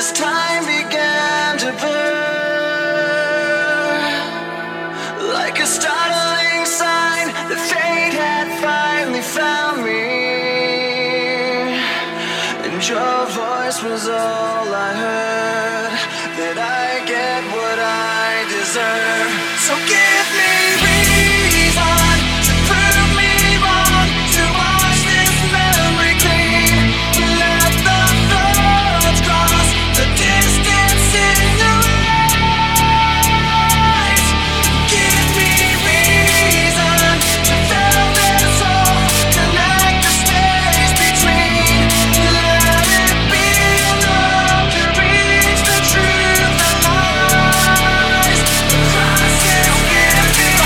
as time began to burn, like a startling sign that fate had finally found me, and your voice was all I heard, that I get what I deserve. So give me reason to prove me wrong, to wash this memory clean, to let the thoughts cross the distance in your eyes. Give me reason to fill this hole, connect the space between. Let it be enough to reach the truth that lies across this giving.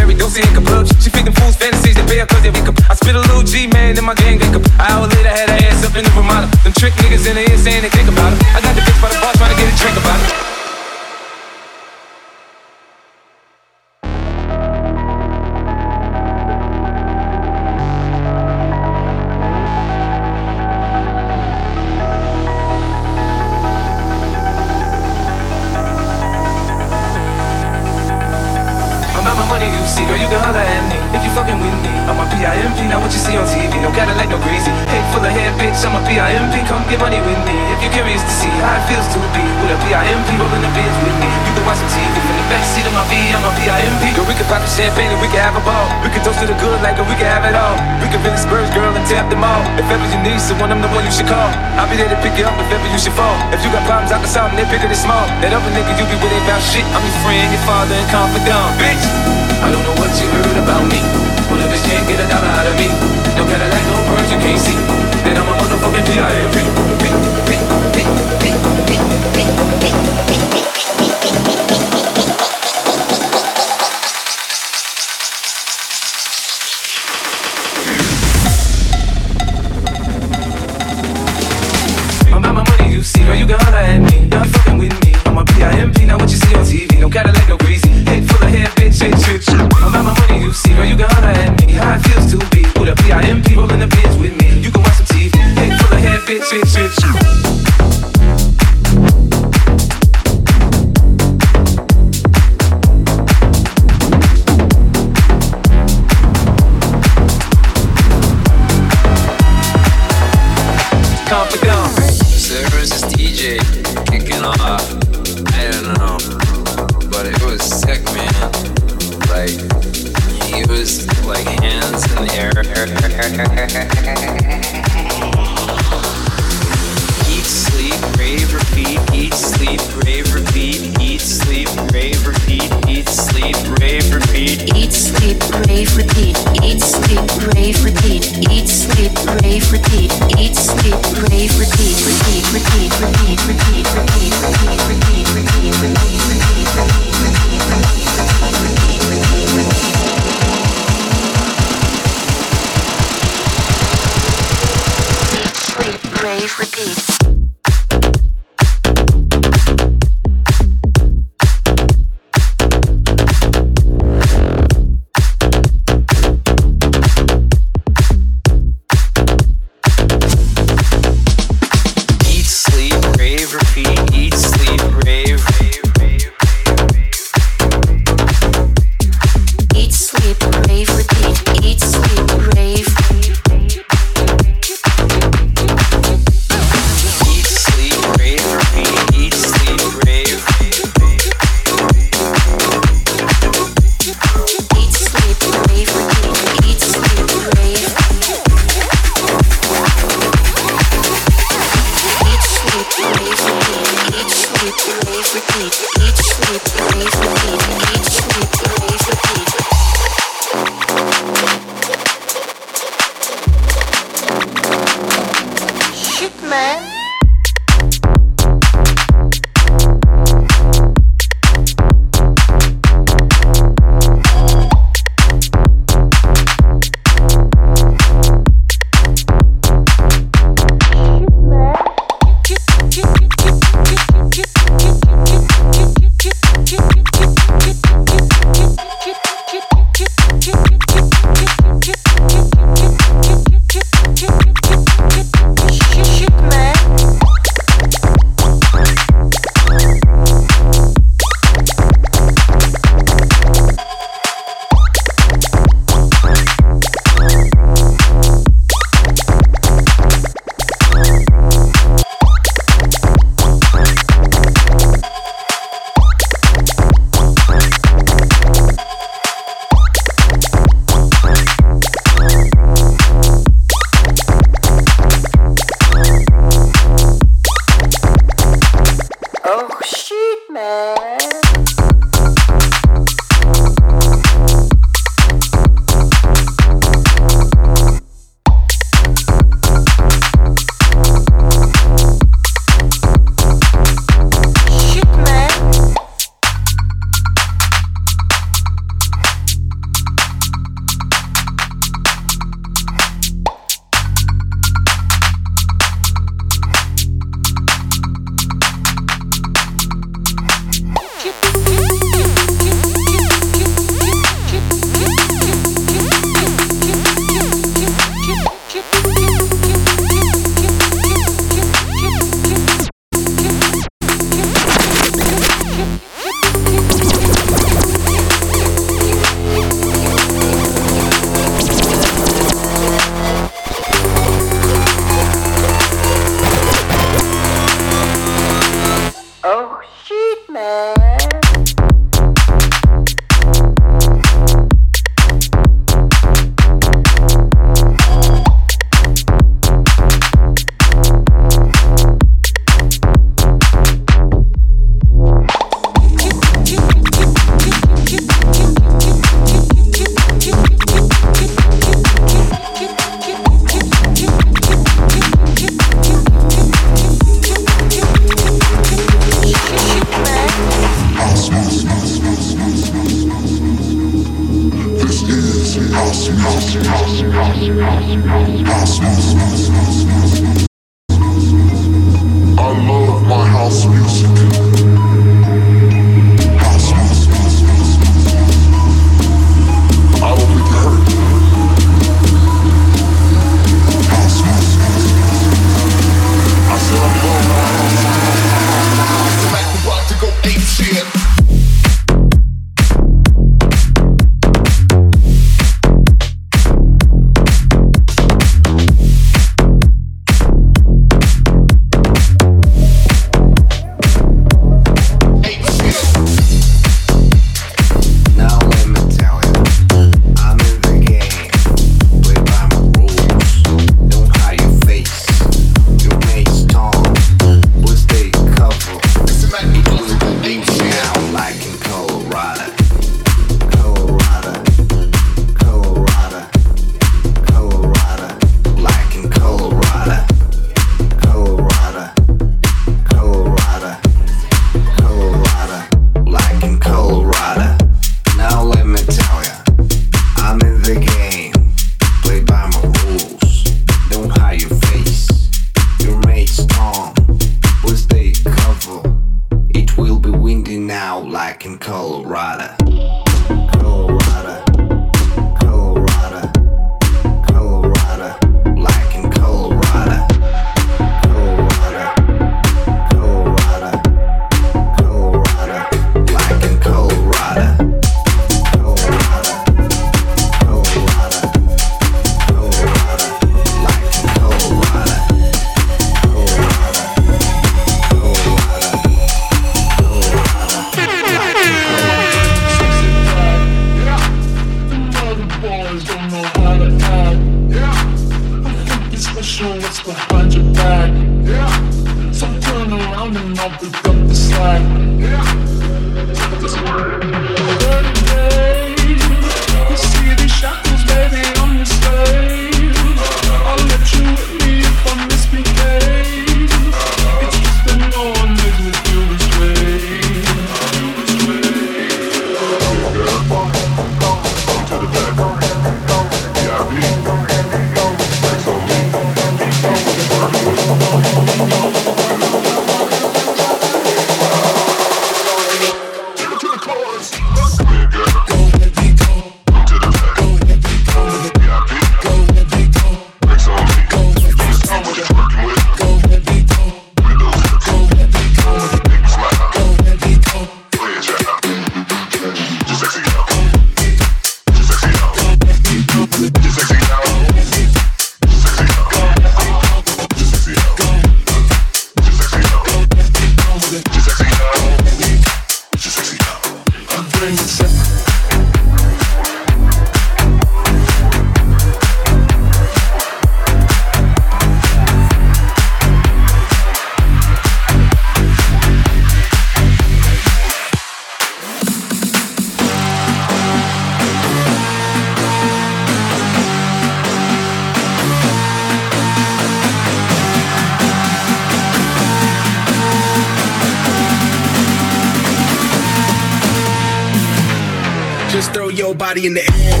Just throw your body in the air.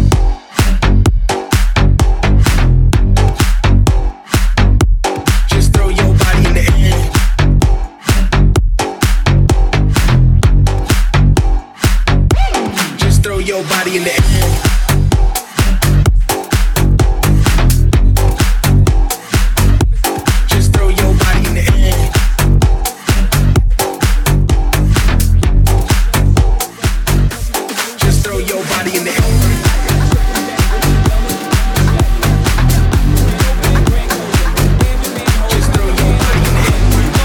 Just throw your body in the air. Just throw your body in the air. Just throw your body in the air. Just throw your body in the air. Just throw your body in the air.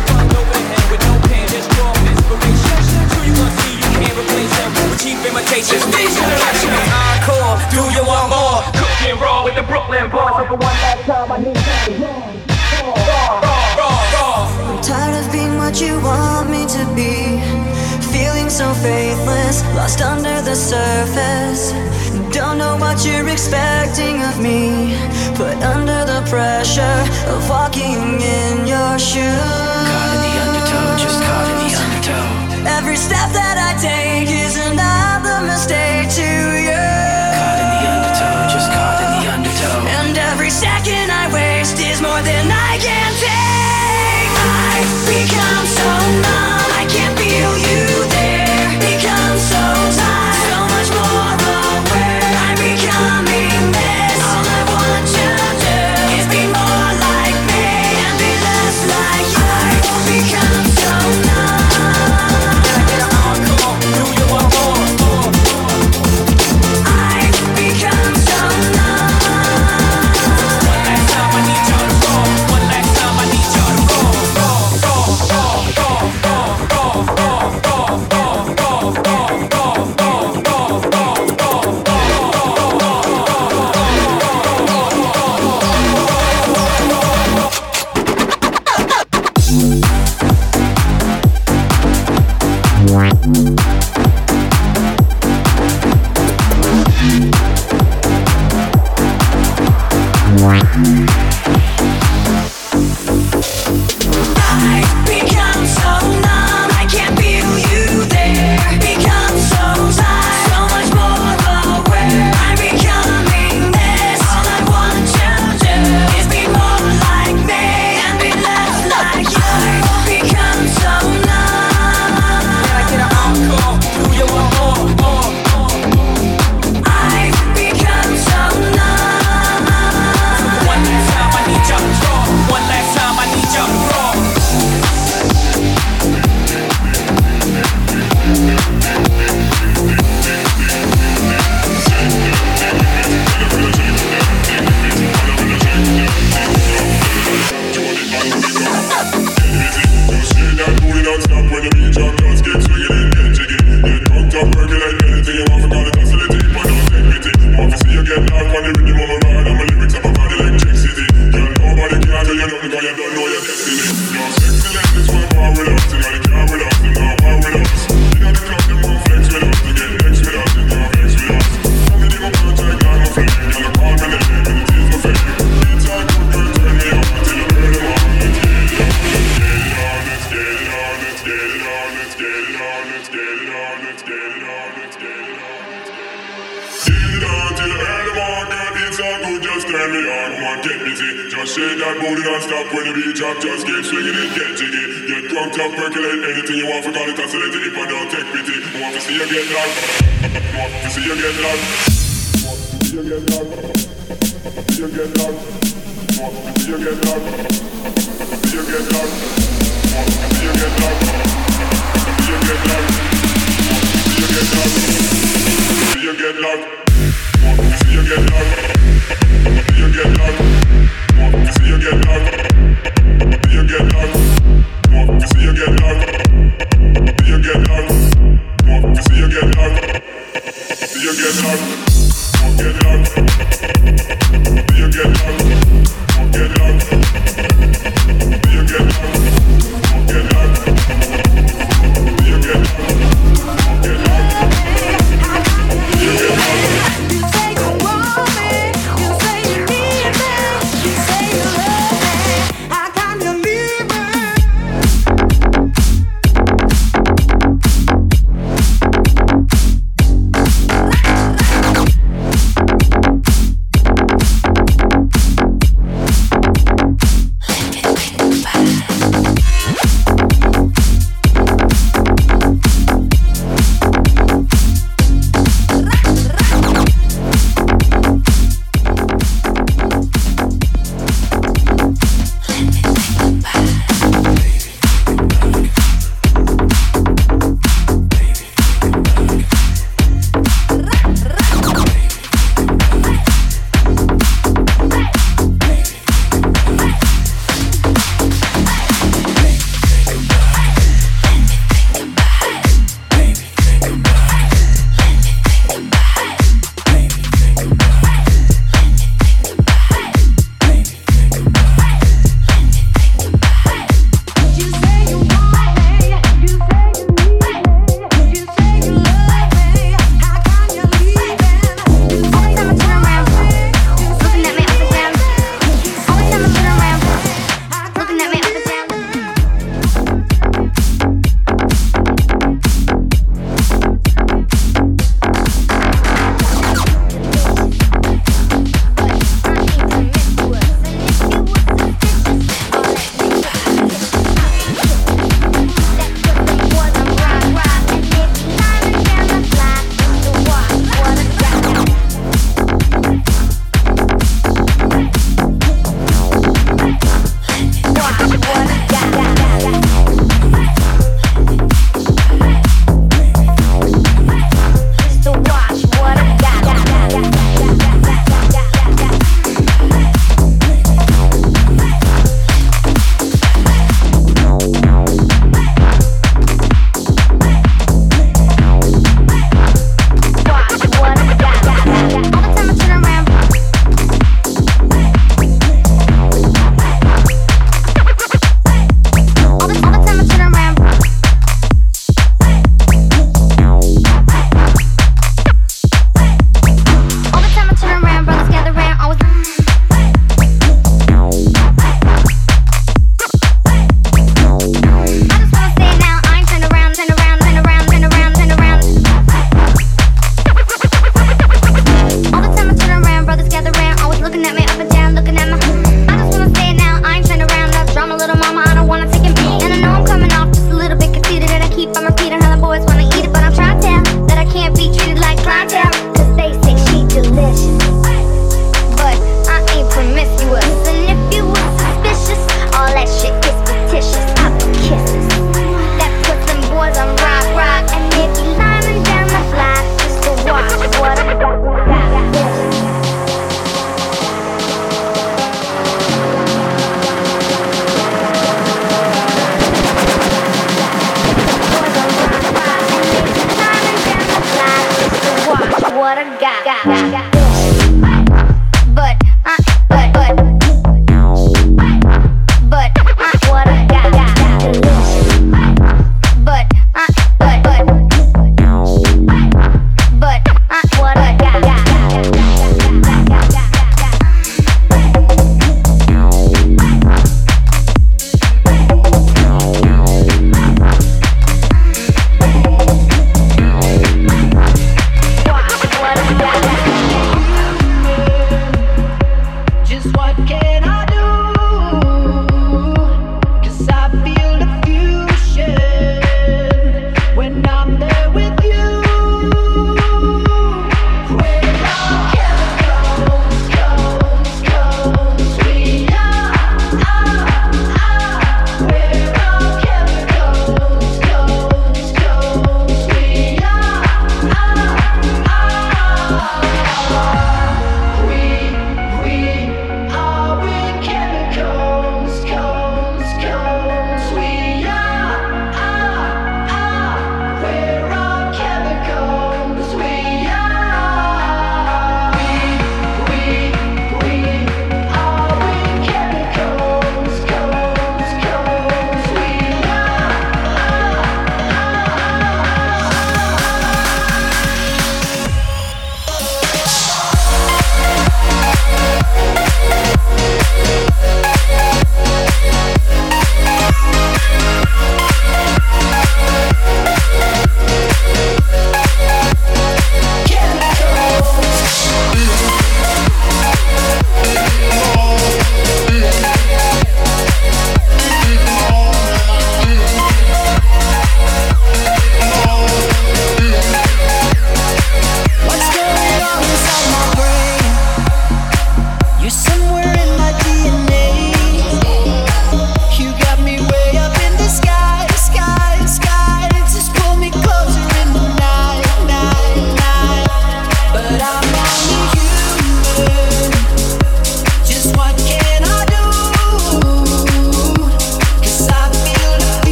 Encore, do you want more? Cooking raw with the Brooklyn boys. For one last time, I need I'm tired of being what you want me to be. Feeling so faithless, lost under the surface. Don't know what you're expecting of me. Put under the pressure of walking in your shoes. Caught in the undertow, just caught in the undertow. Every step that I take is another mistake to you. Caught in the undertow, just caught in the undertow. And every second I waste is more than I can take. I become so numb, I can't feel you there. Become so tired, so much more aware. I'm becoming this. All I want to do is be more like me and be less like you. I become so numb. Do you want more? I become so numb. One last time I need y'all to roll. One last time I need y'all to roll. I become so numb, I can't feel you there. Become so tired, so much more aware. I'm becoming this. All I want to do is be more like me and be less like you. Become so numb. Can I get an encore? Do you want more? I become so numb. One last time I need y'all to draw. One last time I need y'all to draw. Shake that booty non-stop when the beat drop. Just keep swinging it, get jiggy. Get drunk, up, percolate anything you want. For call it oscillate it if I don't take pity. I want to see you get loud. I want to see you get loud. I want to see you get loud. See you get loud. I want to see you get loud. See you get loud. I want to see you get loud.